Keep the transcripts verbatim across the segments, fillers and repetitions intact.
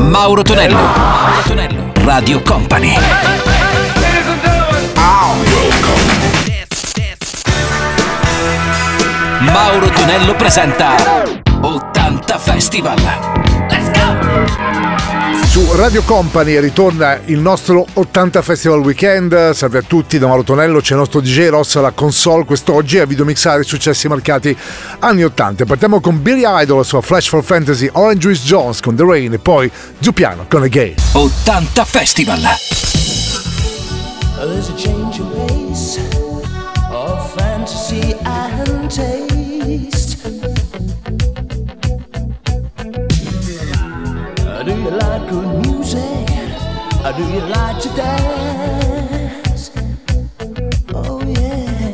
Mauro Tonello. Mauro Tonello. Radio Company. Mauro Tonello presenta ottanta Festival. Let's go! Su Radio Company ritorna il nostro ottanta Festival Weekend. Salve a tutti, da Mauro Tonello, c'è il nostro D J Ross alla console quest'oggi a videomixare i successi marcati anni ottanta. Partiamo con Billy Idol, la sua Flash for Fantasy, Orange Juice Jones con The Rain e poi Zupiano con Again. ottanta Festival. There's a change in pace of fantasy and taste. Do you like good music? Or do you like to dance? Oh yeah.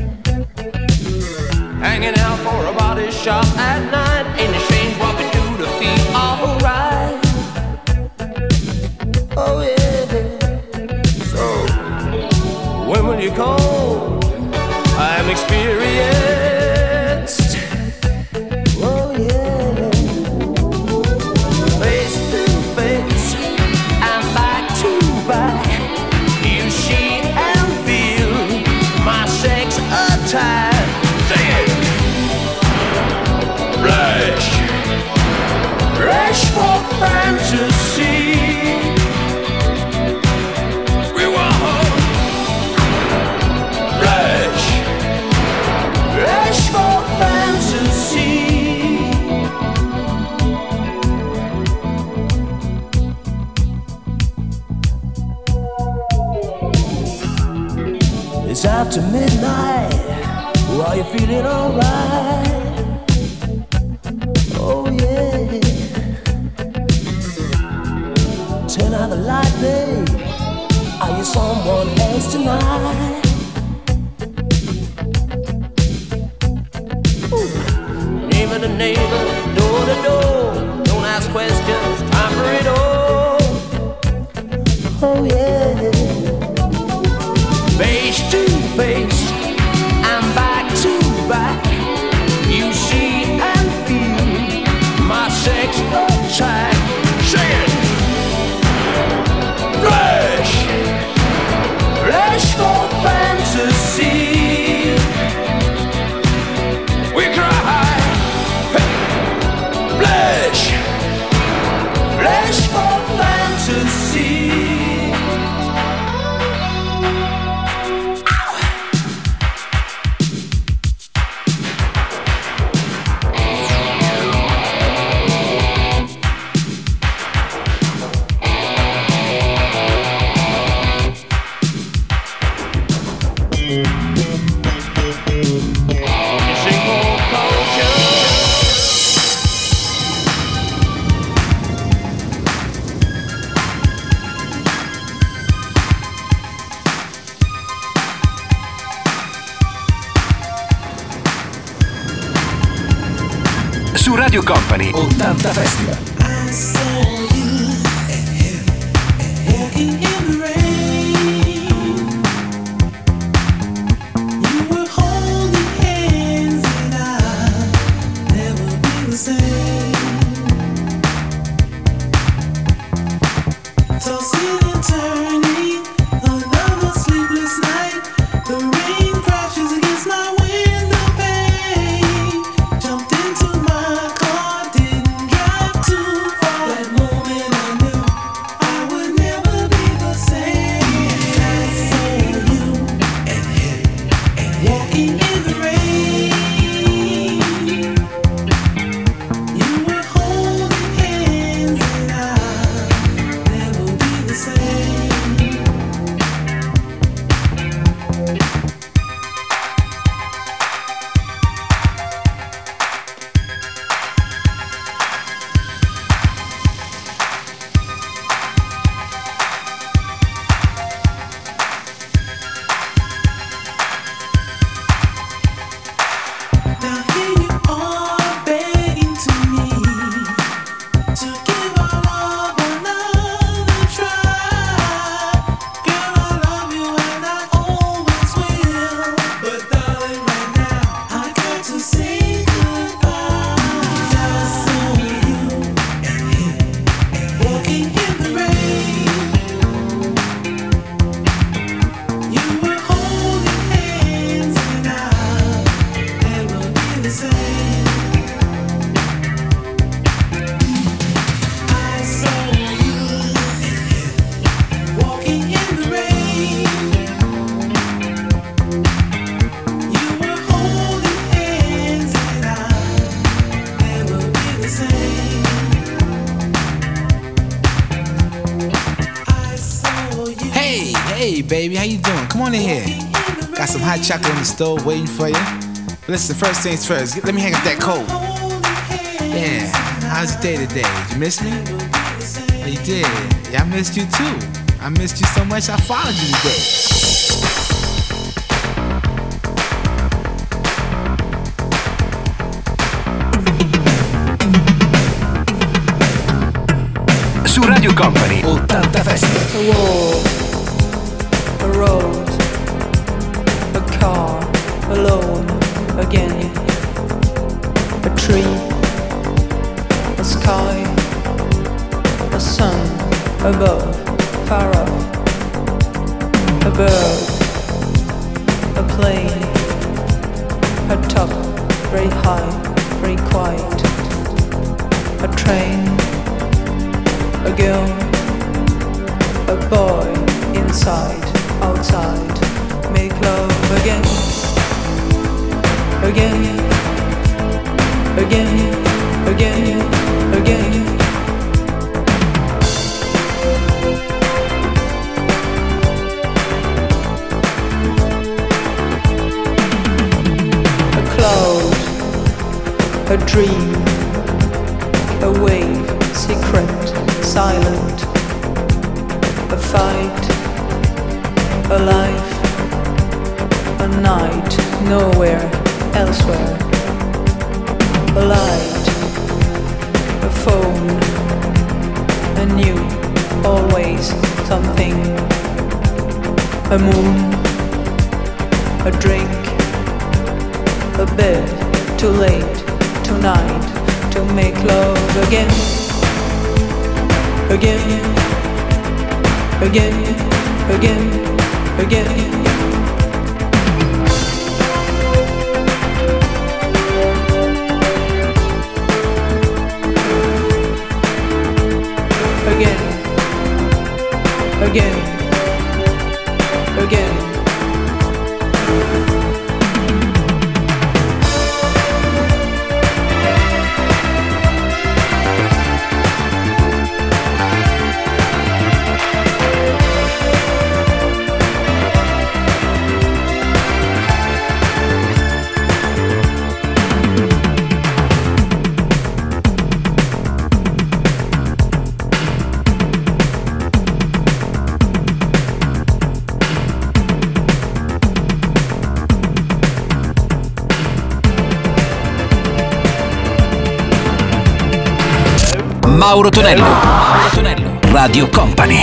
Hanging out for a body shop at night. Ain't it strange what we do to feel alright? Oh yeah. So when will you come? I'm experienced. Oh yeah. It's after midnight, are you feeling alright? Oh yeah. Turn out the light, babe. Are you someone else tonight? Ooh. Neighbor to neighbor, door to door. Don't ask questions, time for it all. Oh yeah. Face to face and back to back, you see and feel my sex attack. Sing it! Flash! Flash for fantasy. We cry. Hey. Flash! Flash for fantasy. Su Radio Company ottanta Festival. Say Hey, baby, how you doing? Come on in here. Got some hot chocolate in the stove waiting for you. Listen, first things first, let me hang up that coat. Yeah, how's your day today? Did you miss me? Oh, you did? Yeah, I missed you too. I missed you so much I followed you today. Su Radio Company ottanta Festival. A wall, a road, a car, alone again. A tree, a sky, a sun above, far off. A bird, a plane, a top, very high, very quiet. A train, a girl, a boy, inside, outside, make love again, again, again, again, again. A cloud, a dream, a wave, secret, silent, a fight, a life, a night, nowhere, elsewhere, a light, a phone, a new, always something, a moon, a drink, a bed, too late, tonight, to make love again. Again, again, again, again. Again, again, again. Mauro Tonello, Mauro Tonello, Radio Company.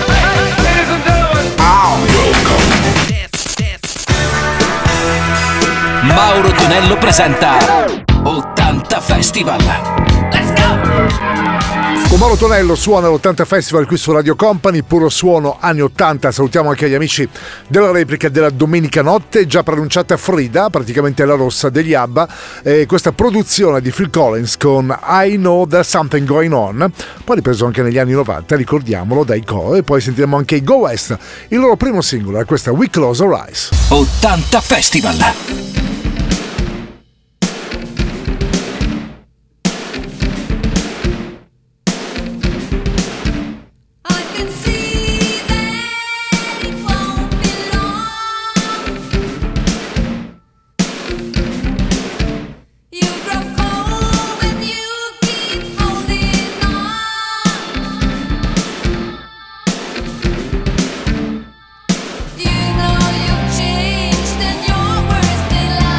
Mauro Tonello presenta ottanta Festival. Let's go! Con Mauro Tonello suona l'ottanta Festival qui su Radio Company, puro suono anni ottanta. Salutiamo anche gli amici della replica della domenica notte, già pronunciata Frida, praticamente la rossa degli ABBA, e questa produzione di Phil Collins con I Know There's Something Going On, poi ripreso anche negli anni novanta, ricordiamolo, dai Go, e poi sentiremo anche i Go West, il loro primo singolo è questa We Close Our Eyes. ottanta Festival. You know you've changed and your words they lie.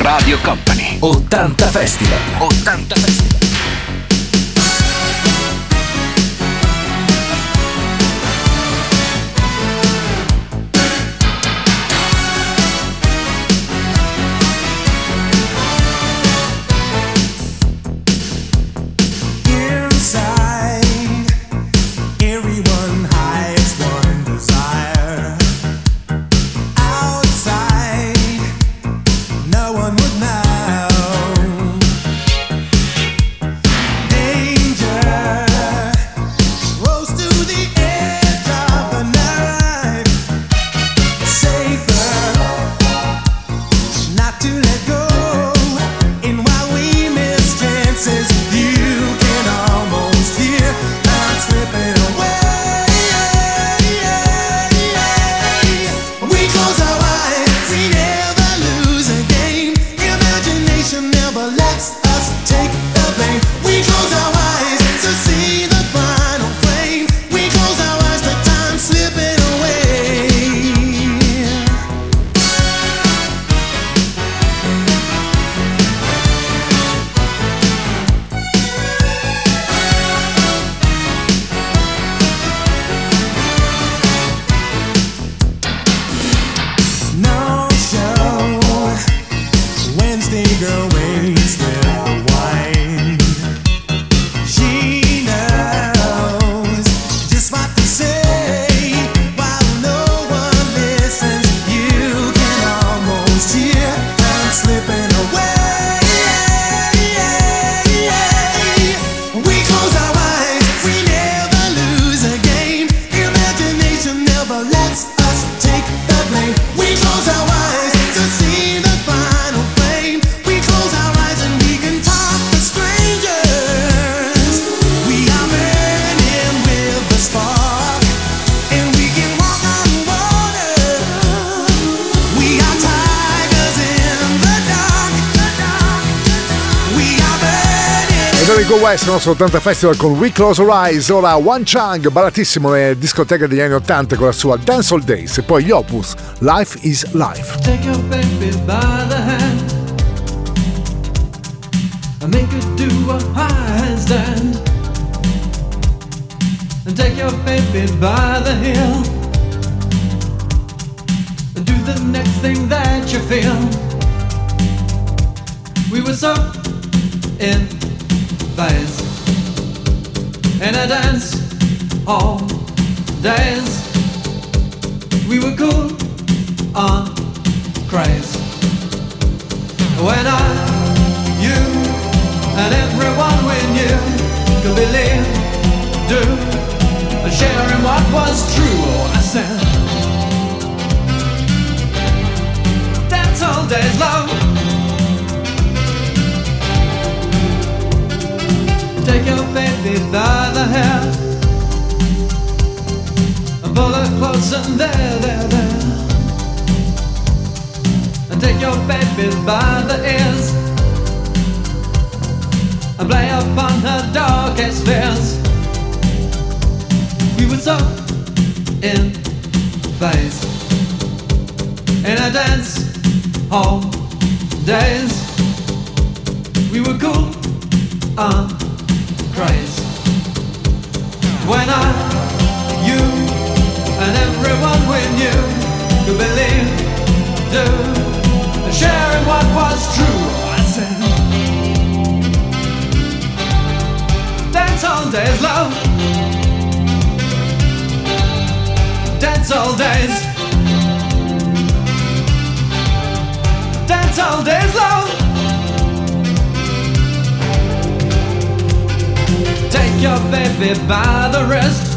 Radio Company. ottanta Festival. ottanta Festival. West, il nostro ottanta Festival con We Close Our Eyes. Ora One Chang, ballatissimo nelle discoteche degli anni ottanta con la sua Dance All Days, e poi gli Opus, Life is Life. Take your baby by the hand and make her do a handstand, and take your baby by the heel and do the next thing that you feel. We were so in phase in a dance all days. We were cool on craze when I, you, and everyone we knew could believe, do, and share in what was true. Oh, I said, dance all days, love. Take your baby by the hair and pull her close and there, there, there. And take your baby by the ears and play upon her darkest fears. We were so in phase in a dance hall days. We were cool on craze when I, you, and everyone we knew could believe, do, and share in what was true. I said, dance all days, love. Dance all days. Dance all days, love. Take your baby by the wrist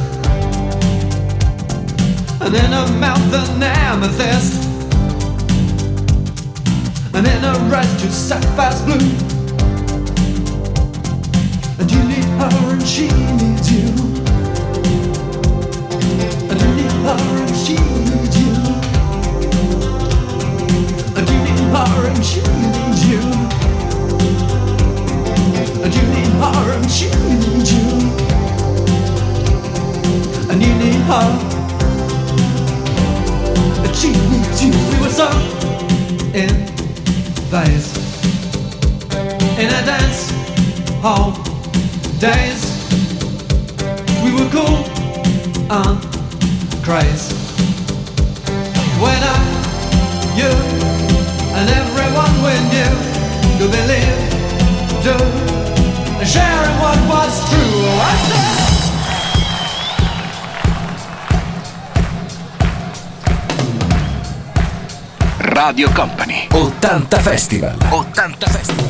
and in her mouth an amethyst, and in her eyes two sapphires blue. And you need her and she needs you, and you need her and she needs you, and you need her and she needs you, and you need her and she needs you, and you need her and she needs you. We were so in phase in a dance hall days. We were cool and crazy. When I, you, and everyone we knew could believe, do, and sharing what was true. I said, Radio Company ottanta Festival. ottanta Festival.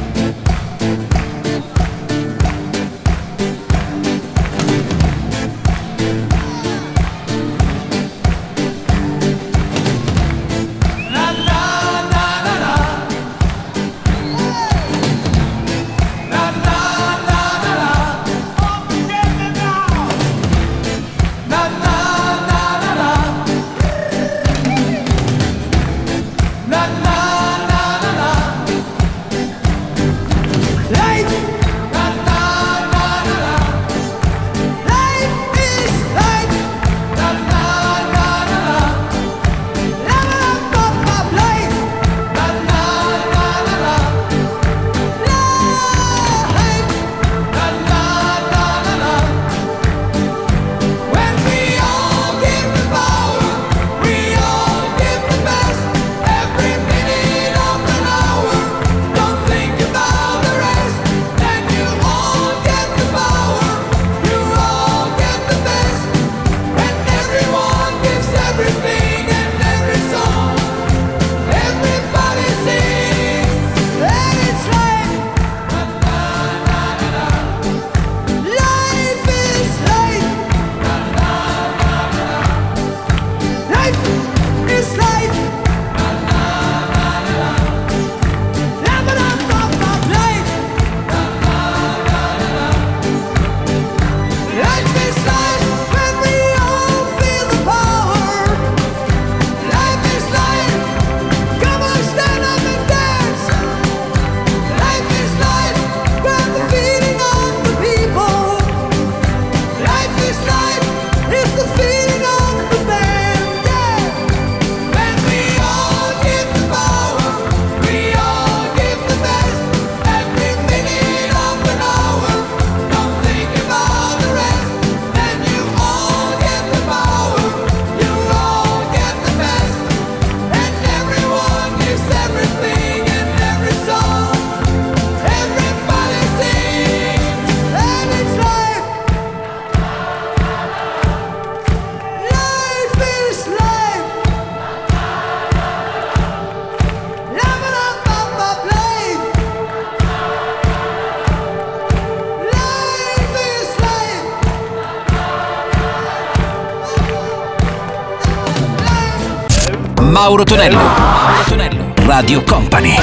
Mauro Tonello, Mauro Tonello, Radio Company.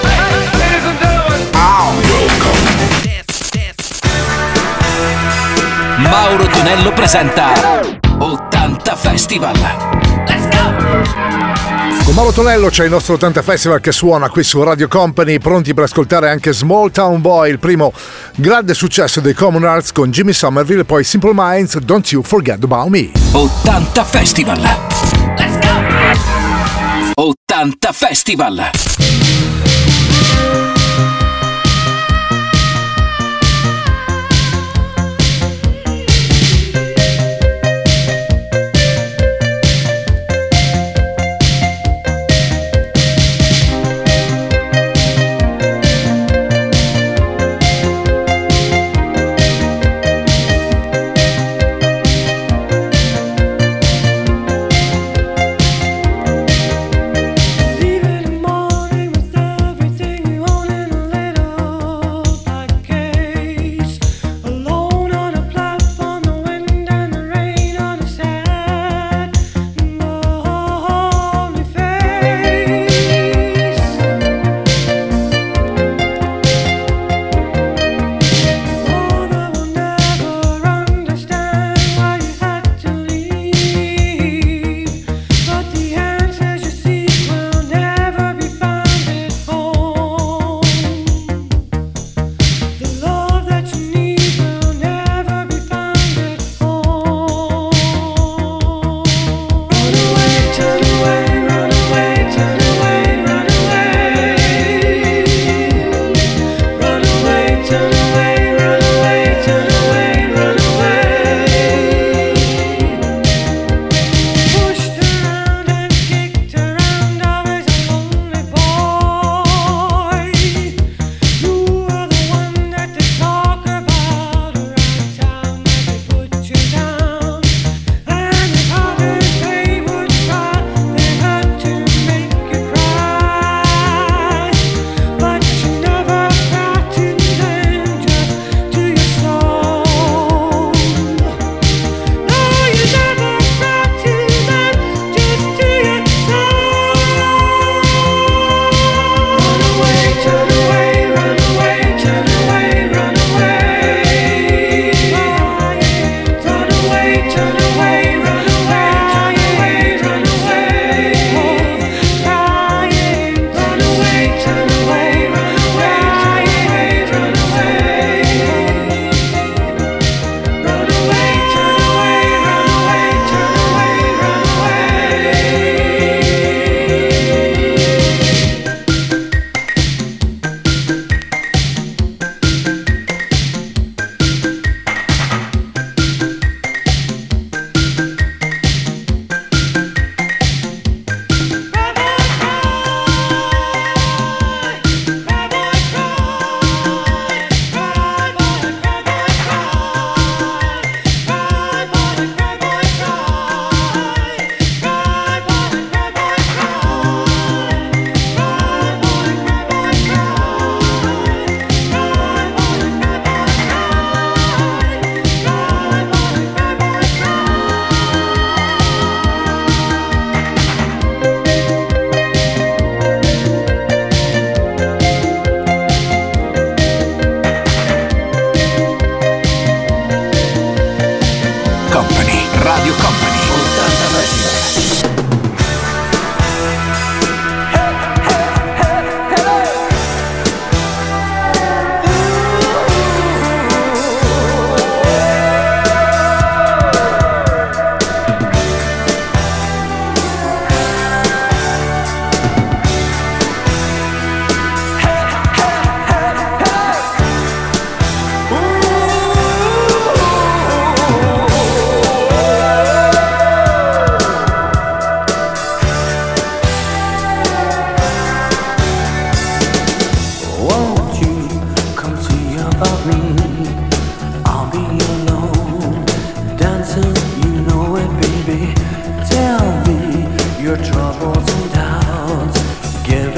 Mauro Tonello presenta ottanta Festival. Let's go! Con Mauro Tonello c'è il nostro ottanta Festival che suona qui su Radio Company, pronti per ascoltare anche Small Town Boy, il primo grande successo dei Common Arts con Jimmy Somerville, e poi Simple Minds, Don't You Forget About Me. ottanta Festival. Let's go! ottanta Festival. Leaving the morning with everything you wanted.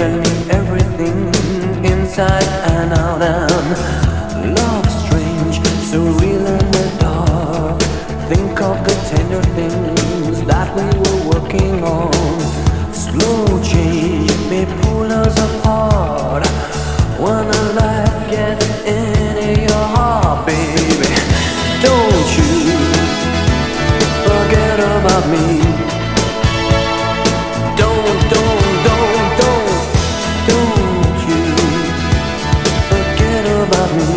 gave me everything inside and out, and love strange, so real in the dark. Think of the tender things that we were working on. Slow change may pull us apart when a light gets into your heart, baby. Don't you forget about me. Don't, don't, don't, don't, don't you forget about me.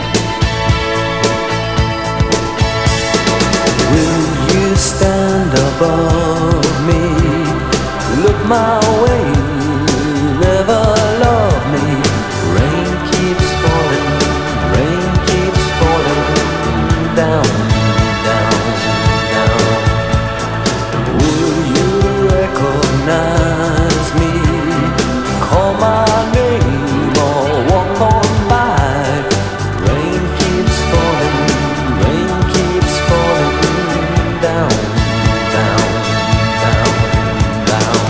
Will you stand above me? Look my way, never love me. Rain keeps falling, rain keeps falling down, down, down. Will you recognize me? Call my name or walk on by. Rain keeps falling, rain keeps falling down, down, down, down.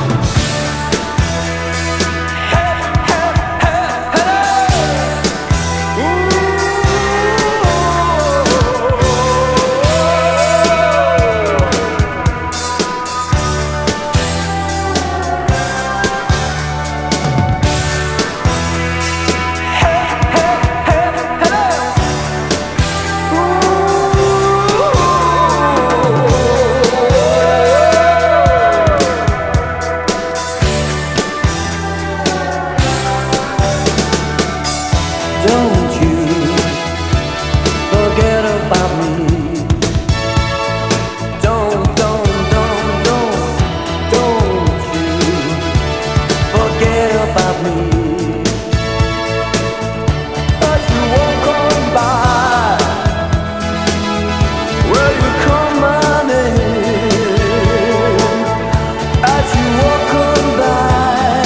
Don't you forget about me. Don't, don't, don't, don't, don't you forget about me. As you walk on by, will you call my name? As you walk on by,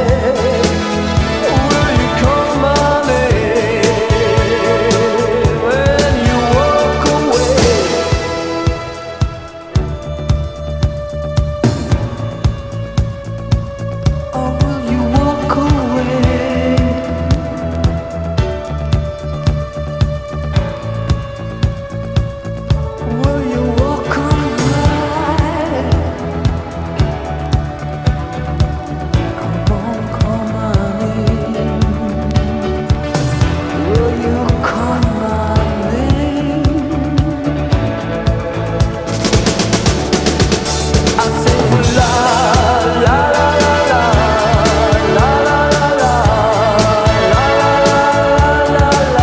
will you call my name? When you walk away, or will you walk away? Will you walk away? Come on, call my name. Will you call my name? I say la la la la la la la la la la la la la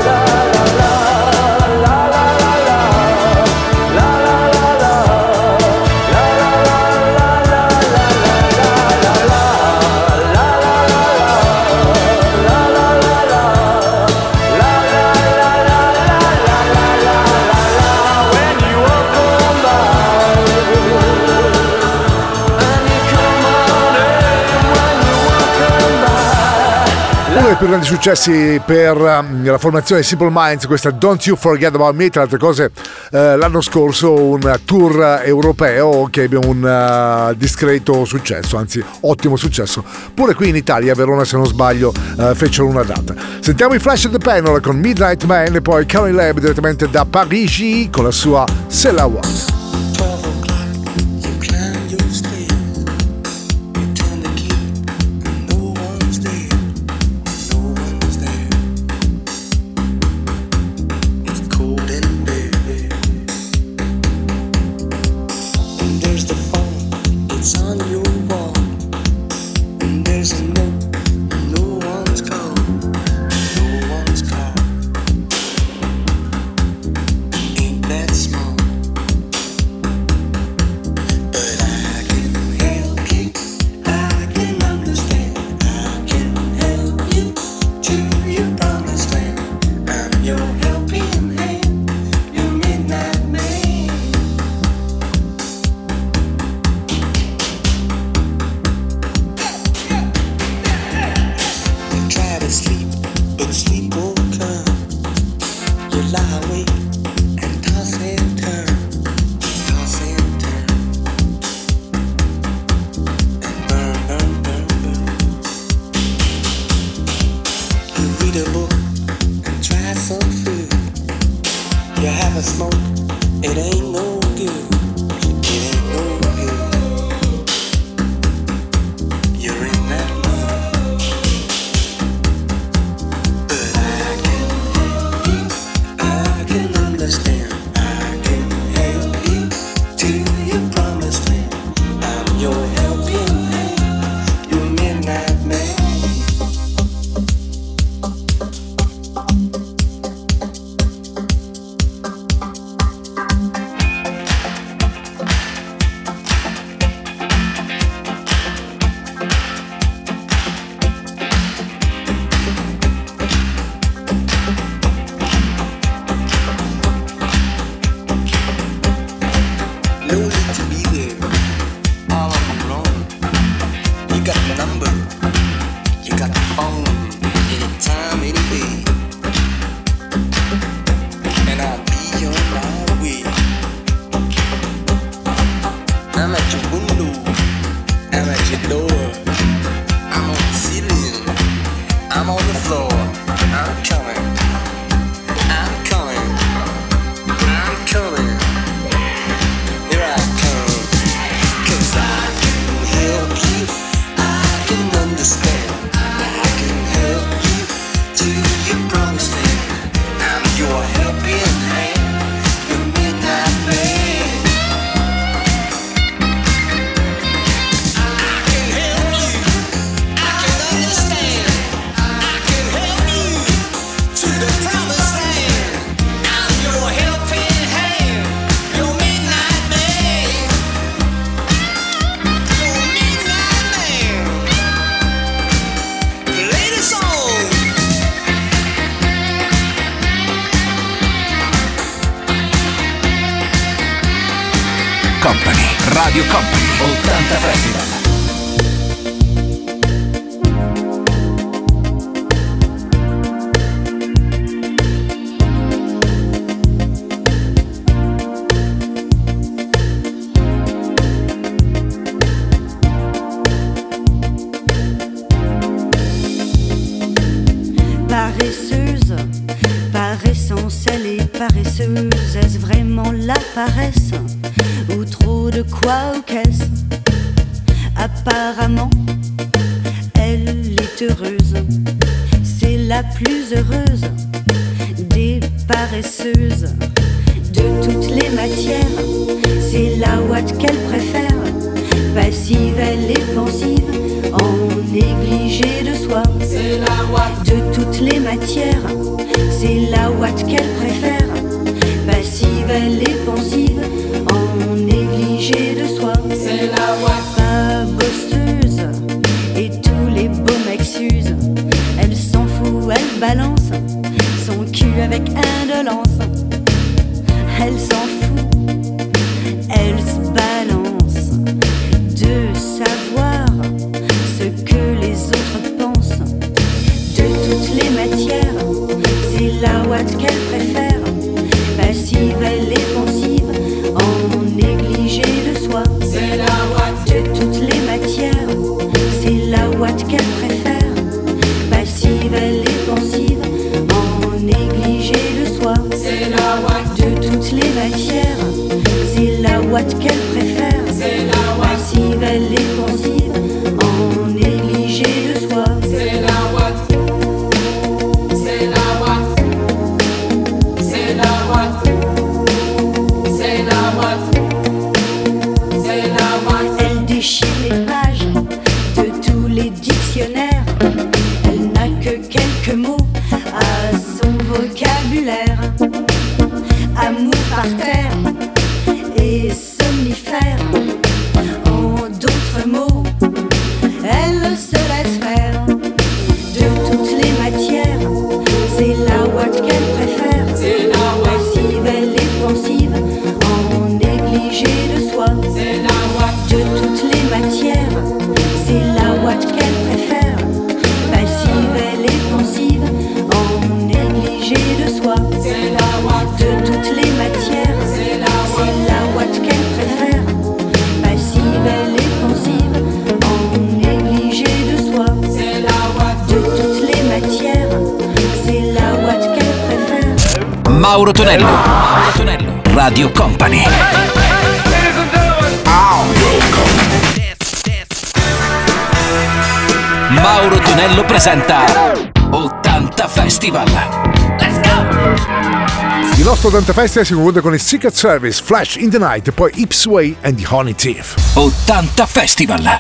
Uno dei più grandi successi per um, la formazione Simple Minds, questa Don't You Forget About Me, tra altre cose eh, l'anno scorso un tour europeo che ebbe un uh, discreto successo, anzi ottimo successo, pure qui in Italia, a Verona se non sbaglio uh, fecero una data. Sentiamo i Flash of the Panel con Midnight Man e poi Karen Lab direttamente da Parigi con la sua C'est la One. That small. of smoke, it ain't no good. It ain't no good. You're in that mood. But I can help you. I can understand. I can help you to your promised land. I'm your helping hand. Your midnight man. Company, Radio Company, ottanta Festival. Paresseuse, par essence elle est paresseuse. Est-ce vraiment la paresse ou trop de quoi ou qu'est-ce? Apparemment, elle est heureuse. C'est la plus heureuse des paresseuses. De toutes les matières, c'est la ouate qu'elle préfère. Passive, elle est pensive, en négligé de soi. C'est la ouate. De toutes les matières, c'est la ouate qu'elle préfère. Passive, elle est pensive, en négligé de soi. C'est la ouate. Pas bosseuse, et tous les beaux mecs s'usent. Elle s'en fout, elle balance son cul avec indolence. Elle s'en fout, elle se balance de savoir ce que les autres pensent. De toutes les matières, c'est la ouate qu'elle préfère. Passive, elle est pensive, en négligé de soi. C'est la ouate. De toutes les matières, c'est la ouate qu'elle préfère. Passive, elle est pensive, en négligé de soi. C'est la ouate. De toutes les matières, c'est la ouate qu'elle préfère. C'est la ouate. Passive, elle est pensive, en négligé de soi. C'est la ouate. C'est la ouate. C'est la ouate. C'est la ouate. C'est la ouate. Elle déchire les pages de tous les dictionnaires. Mauro Tonello. Mauro Tonello, Radio Company. Mauro Tonello presenta ottanta Festival. Let's go! Il nostro ottanta Festival si conclude con il Secret Service, Flash in the Night e poi Ipsway and the Honey Thief. ottanta Festival.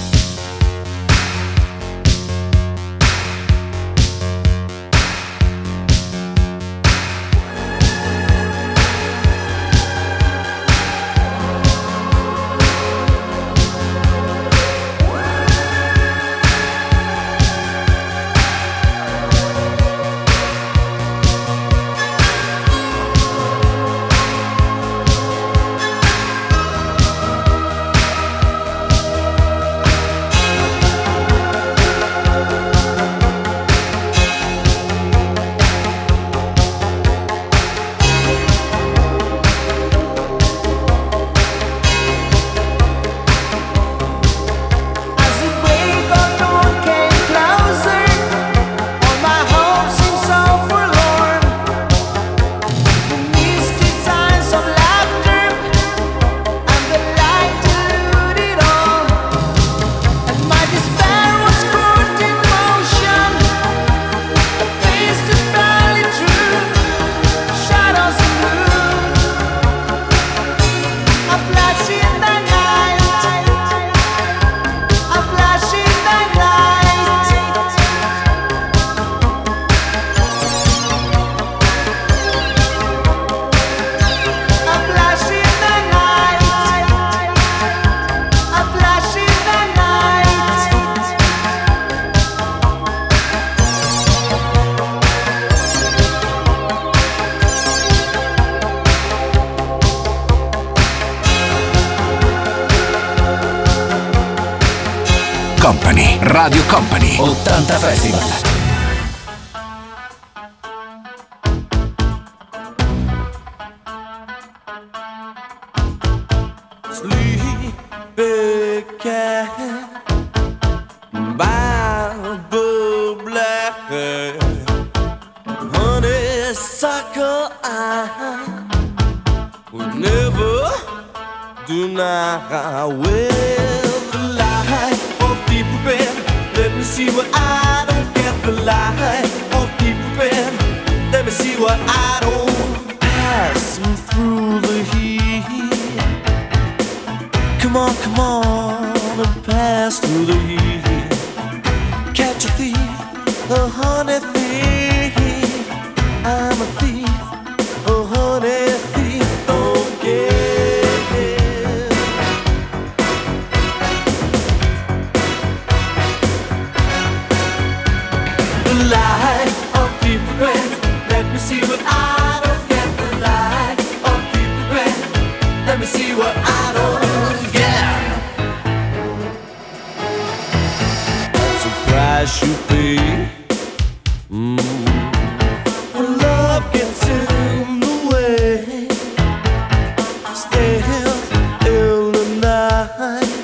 Company, Radio Company, ottanta Festival. Sleepy cat, Bible black, honeysuckle eye, would never deny. With the light of deep red, let me see what I don't get. The light of deep red, let me see what I don't. Passing through the heat, come on, come on, and pass through the heat. Catch a thief, a honey thief. I'm a thief, a honey thief. Okay. The light of deep red, let me see what I don't get. The light of deep red, let me see what I don't get. Price you pay, mm. When love gets in the way, stealth in the night.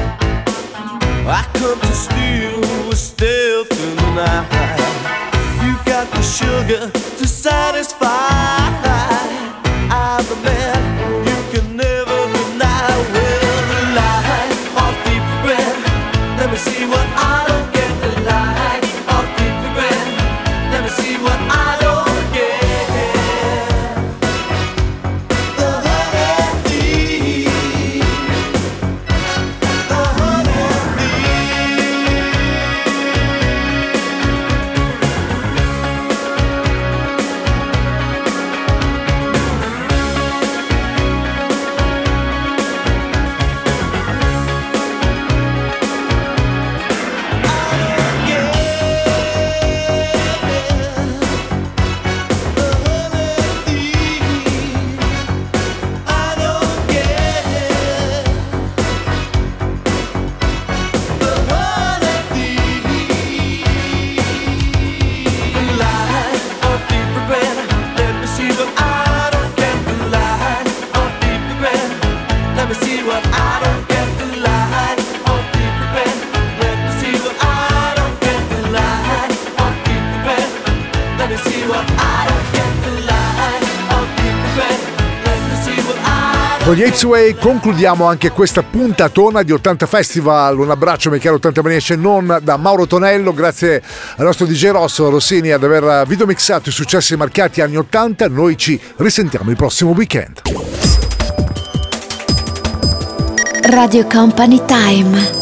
I come to steal with stealth in the night. You got the sugar to satisfy. I'm the man you can never deny. Well, the light of deep red, let me see what I don't. Con gli Apes Way concludiamo anche questa puntatona di ottanta Festival. Un abbraccio, miei cari ottanta Maniaci, non da Mauro Tonello. Grazie al nostro D J Rosso Rossini ad aver videomixato i successi marcati anni ottanta. Noi ci risentiamo il prossimo weekend. Radio Company Time.